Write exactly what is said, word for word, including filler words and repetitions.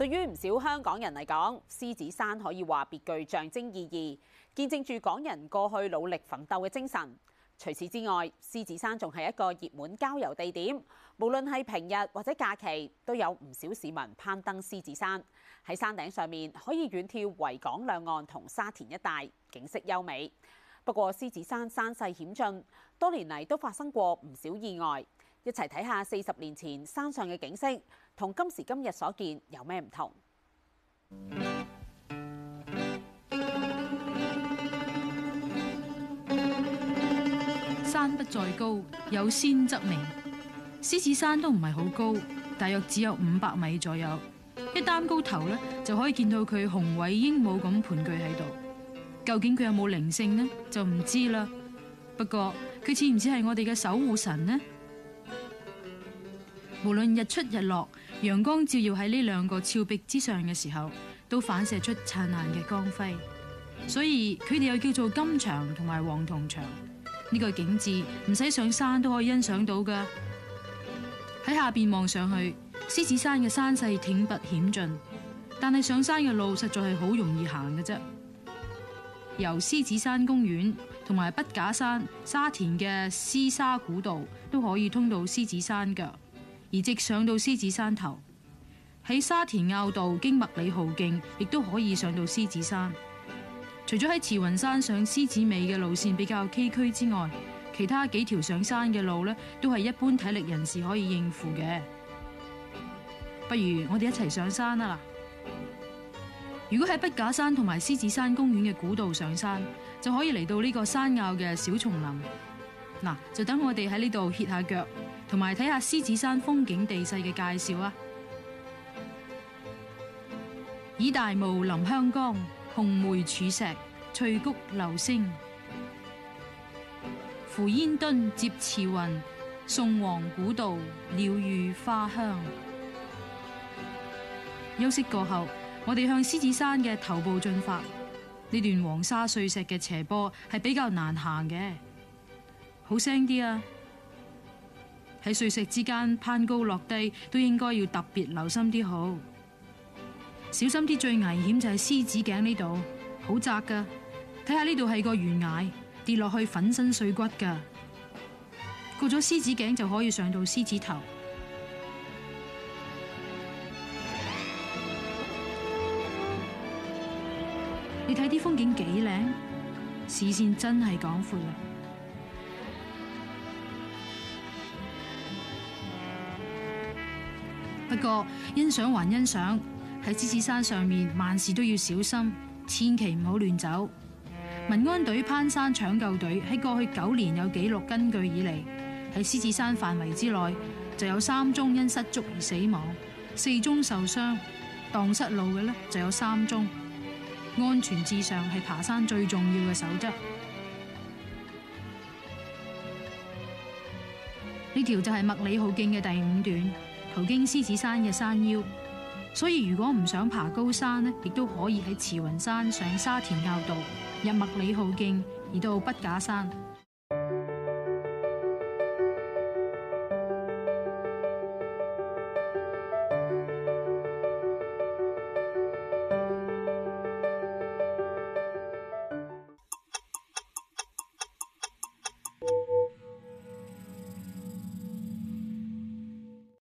對於唔少香港人嚟講，獅子山可以話別具象徵意義，見證住港人過去努力奮鬥嘅精神。除此之外，獅子山仲係一個熱門郊遊地點，無論係平日或者假期，都有唔少市民攀登獅子山。喺山頂上面可以遠眺維港兩岸同沙田一帶，景色優美。不過獅子山山勢險峻，多年嚟都發生過唔少意外。一齊睇下四十年前山上嘅景色，同今時今日所見有咩唔同？ 山不在高，有仙則名。獅子山都唔係好高，大約只有五百米左右。一擔高頭咧，就可以見到佢雄偉英武咁盤踞喺度。究竟佢有冇靈性呢？就唔知啦。不過佢似唔似係我哋嘅守護神呢？無論日出日落，陽光照耀喺呢兩個峭壁之上嘅時候，都反射出燦爛嘅光輝。所以佢哋又叫做金牆同埋黃銅牆。呢個景致唔使上山都可以欣賞到㗎。喺下邊望上去，獅子山嘅山勢挺拔險峻，但係上山嘅路實在係好容易行嘅啫。由獅子山公園同埋筆架山、沙田嘅獅沙古道都可以通到獅子山腳，而直上到獅子山頭。喺沙田坳道經麥理浩徑，亦都可以上到獅子山。除咗喺慈雲山上獅子尾嘅路線比較崎嶇之外，其他幾條上山嘅路呢，都係一般體力人士可以應付嘅。不如我哋一齊上山啊！如果喺筆架山同埋獅子山公園嘅古道上山，就可以嚟到呢個山坳嘅小叢林。嗱，就等我哋喺呢度歇下腳，同埋睇下獅子山風景地勢嘅介紹啊！以大霧臨香江，紅梅柱石，翠谷流星。扶煙墩接慈雲，宋皇古道，鳥語花香。休息過後，我哋向獅子山嘅頭部進發。呢段黃沙碎石嘅斜坡係比較難行嘅，好聲啲啊！喺碎石之間攀高落低，都應該要特別留心啲好。小心啲，最危險就係獅子頸呢度，好窄噶。睇下呢度係個懸崖，跌落去粉身碎骨噶。過咗獅子頸就可以上到獅子頭。你睇啲風景幾靚，視線真係廣闊啦。不過欣賞還欣賞。喺獅子山上面，萬事都要小心，千祈唔好亂走。民安隊攀山搶救隊喺過去九年有紀錄根據以嚟，喺獅子山範圍之內就有三宗因失足而死亡，四宗受傷，蕩失路嘅呢就有三宗。安全至上係爬山最重要嘅守則。呢條就係麥理浩徑嘅第五段，途經獅子山嘅山腰。所以如果唔想爬高山呢，亦都可以喺慈雲山上沙田坳道，入麥理浩徑，而到筆架山。